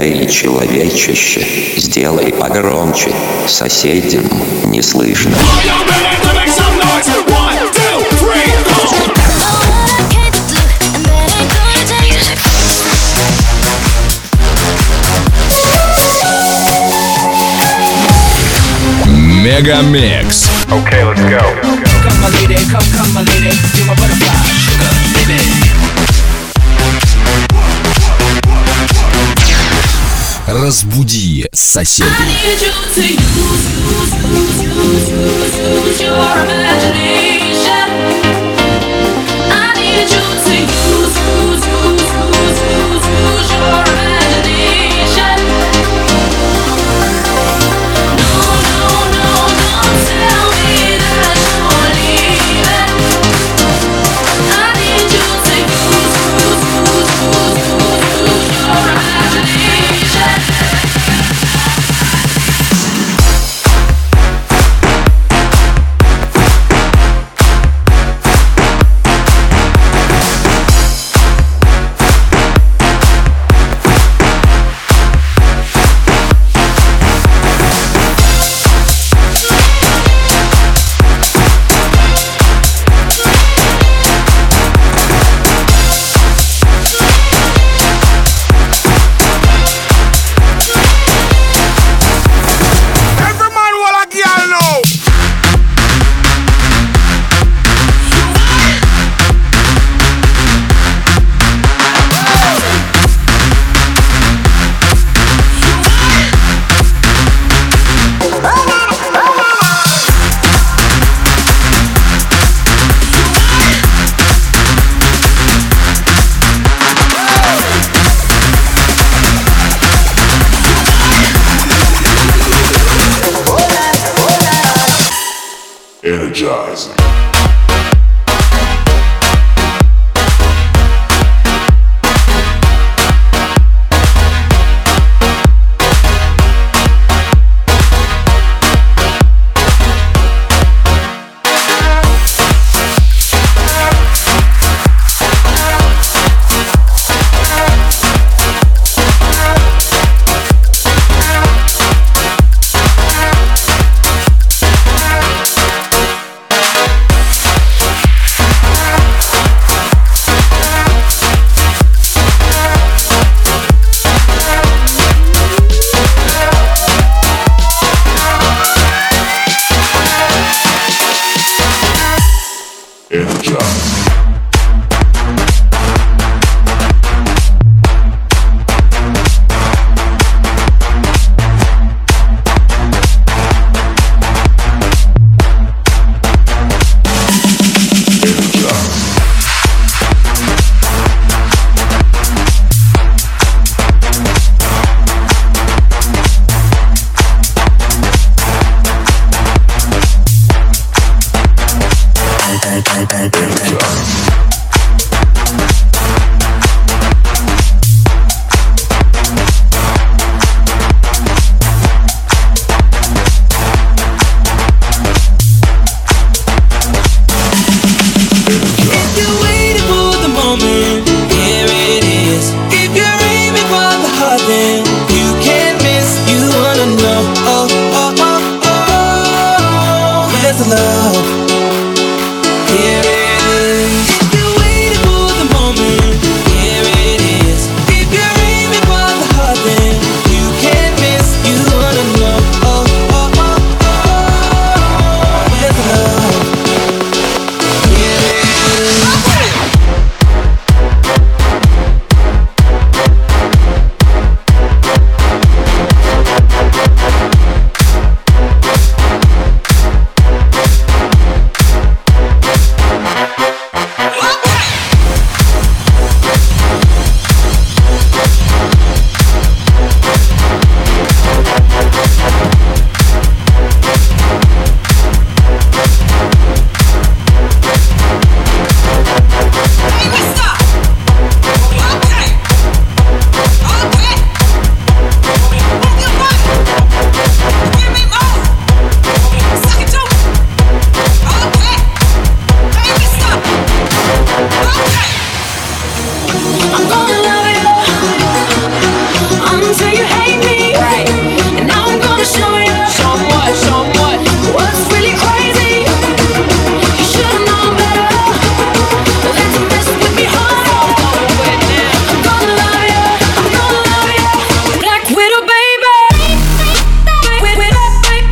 Эй, человечище, сделай погромче, соседям не слышно. Мегамикс. Okay, let's go. Come my lady, come my lady, you're my butterfly, sugar, baby. Разбуди соседей. Energize. you hate me. Right. And now I'm gonna show you. Show 'em what, show 'em what. What's really crazy? You should've known better. Let you mess with me harder. I'm gonna love you. I'm gonna love you. Black Widow, baby. Black Widow.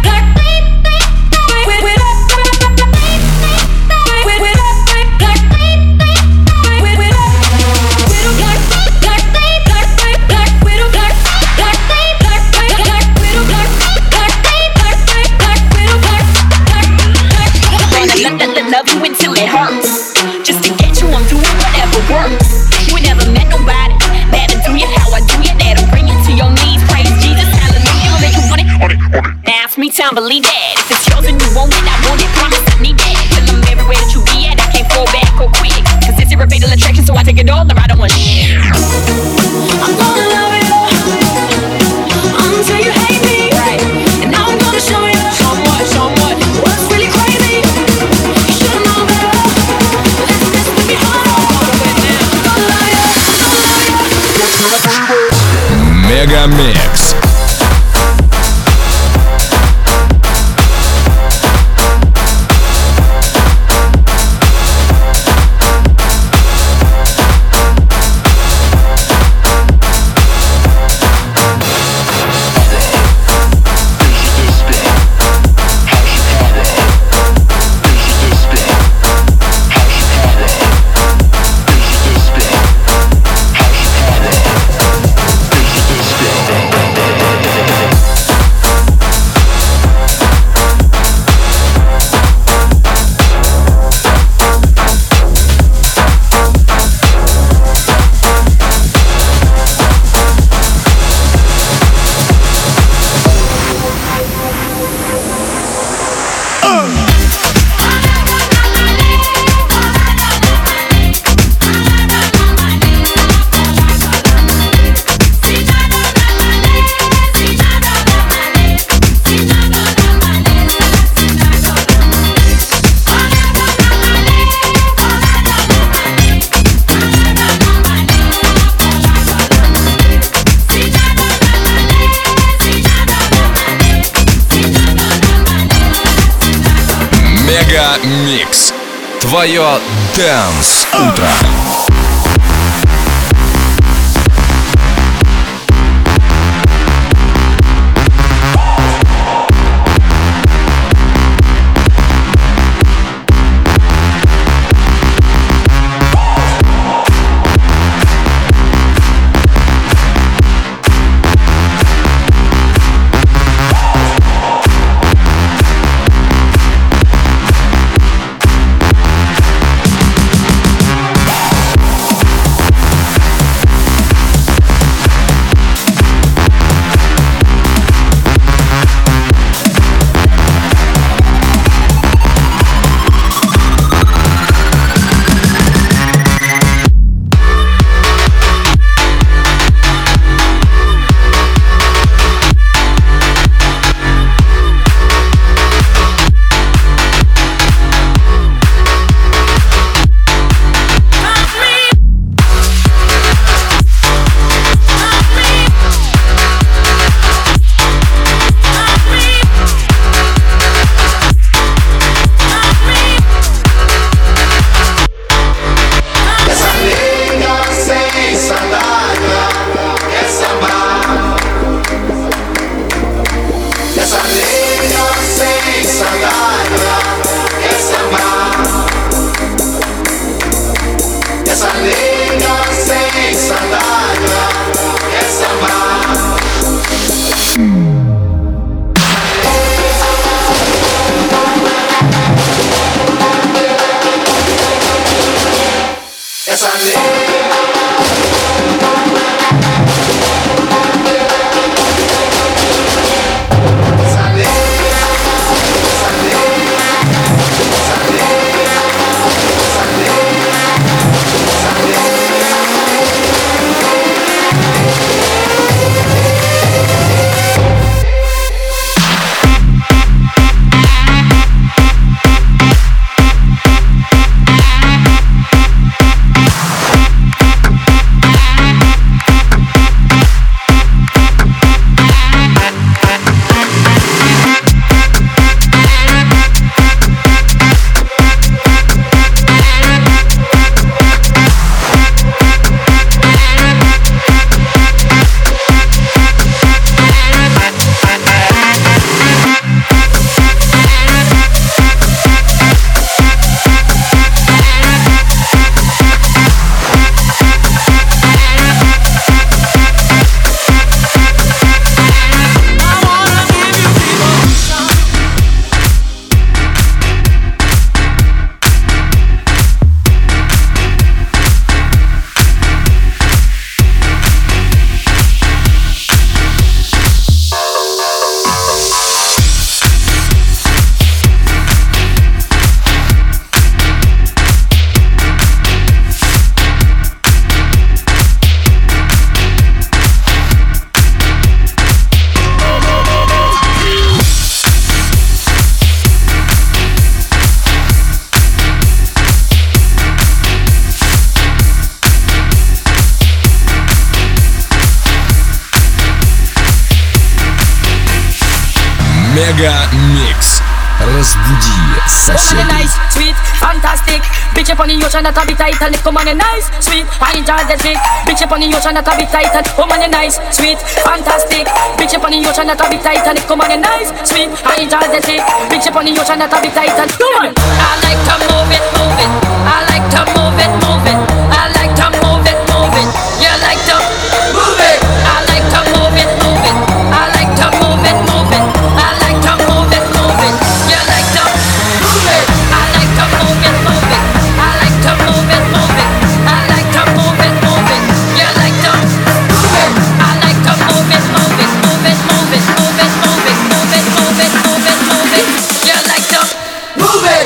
Love you until it hurts. Just to get you, I'm doing whatever works. You ain't never met nobody that'll do you how I do you. That'll bring you to your knees. Praise Jesus, hallelujah. Make you want it. Now it's me time, believe that. If it's yours and you want it, I want it. Promise I need that. Till I'm everywhere that you be at. I can't fall back or quit. Cause it's your fatal attraction, so I take it all or I don't want shit. I'm gonna love you until you hate me. Right. And now I'm gonna show you. Show 'em what, show 'em what. What's really crazy? You should've known better. Let you mess with me harder. I'm gonna love you. Мегамикс. Мегамикс. Твое Dance утро. Мега Микс. Разбуди соседей. Nice, sweet, fantastic. Bitch up on the ocean that a bit tight and come on a nice, sweet, energetic. Bitch up on the ocean that a bit tight and come on a nice, sweet, fantastic. Bitch up on the ocean that a bit tight and come on a nice, sweet, energetic. Bitch up on the ocean that a bit tight and come on. I like to move it, move it. I like to move it, move it. I like to move it, move it. You like to move it. I like to move it, move it. I like to move it, move it. I like to move it, move it. You like to move it. I like to move it, move it. I like to move it, move it. I like to move it, move it. You like to move it. I like to move it, move it, move it, move it, move it, move it, move it, move it, move it, move it. You like to move it.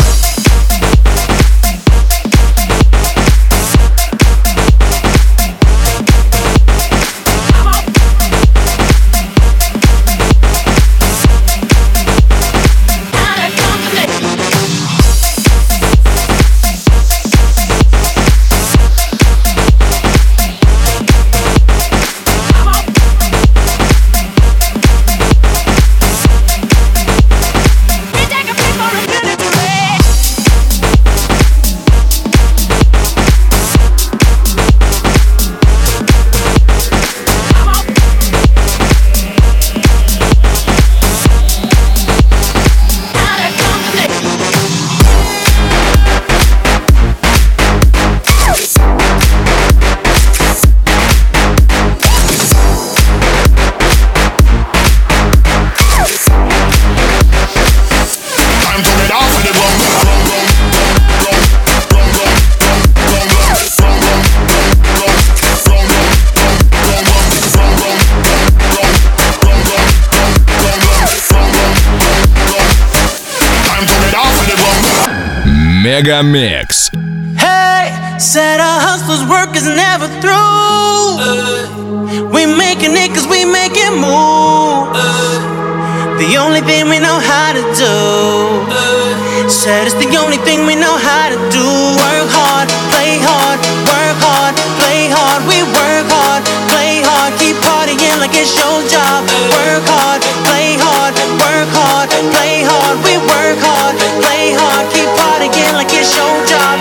Мега Микс. Hey, said our hustler's work is never through. We making it cause we make it move. The only thing we know how to do. Said it's the only thing we know how to do. Work hard, play hard, work hard, play hard. We work hard, play hard, keep partying like it's your job. Work hard, play hard, work hard, play hard. We work hard, play hard, keep partying like it's your job.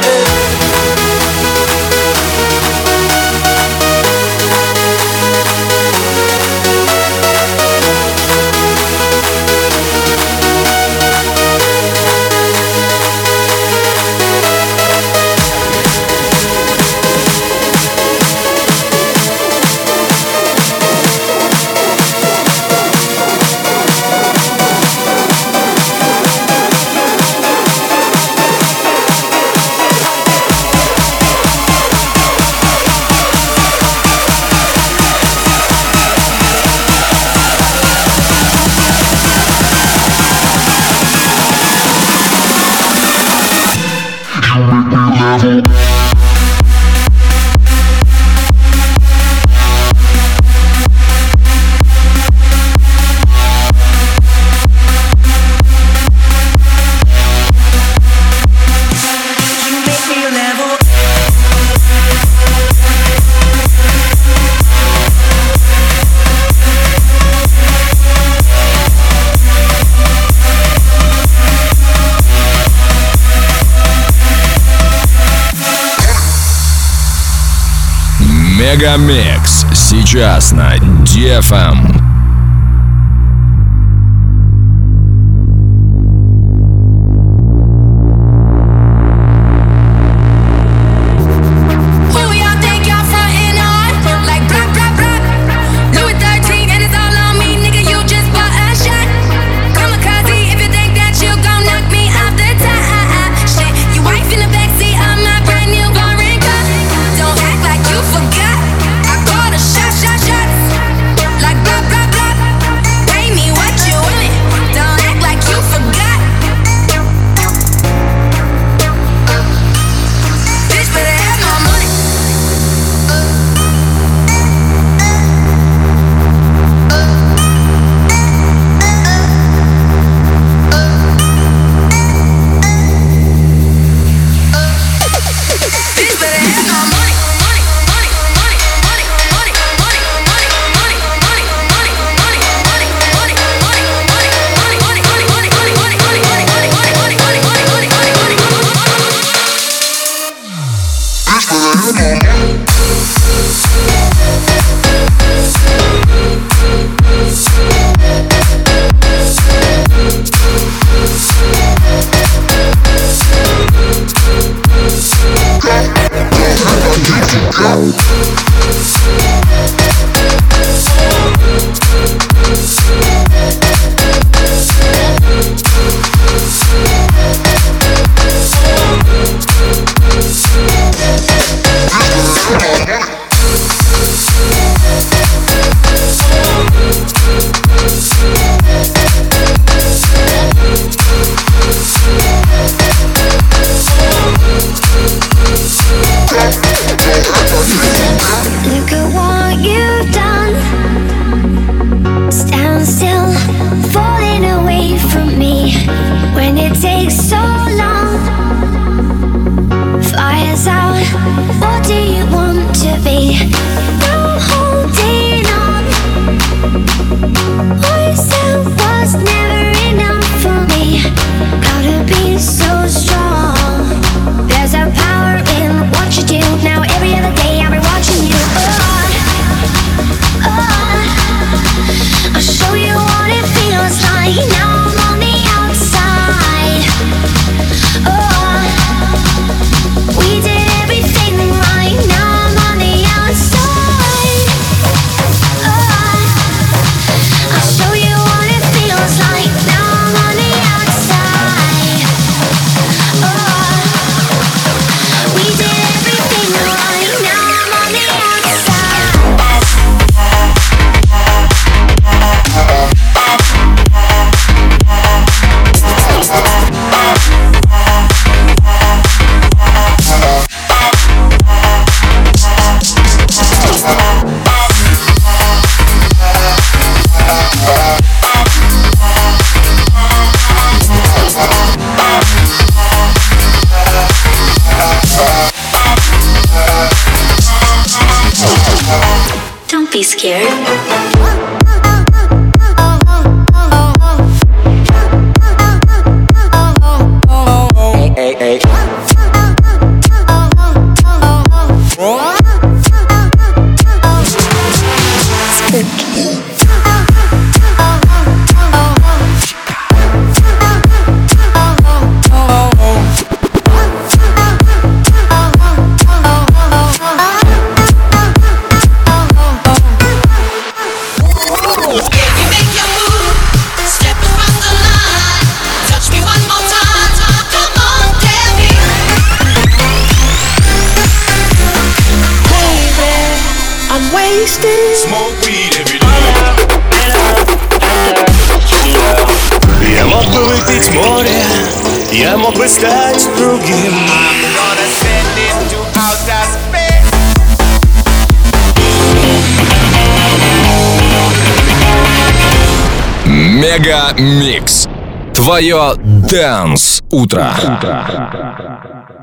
Мега Микс сейчас на DFM. Like do you want to be? Now holding on. Voice that was never enough for me. Gotta be so strong. There's a power in what you do. Now every other day I'll be watching you. I'll show you what it feels like. Now I'm on the outside. We did everything right. Now I'm on the outside. I'll show you what it feels like. Now I'm on the outside. We did everything right. Now I'm on the outside. Don't be scared. Hey, hey. Smoke weed every day. Я мог бы выпить море, я мог бы стать другим. I'm gonna send it to outer space. Мега Микс. Твое Dance утро.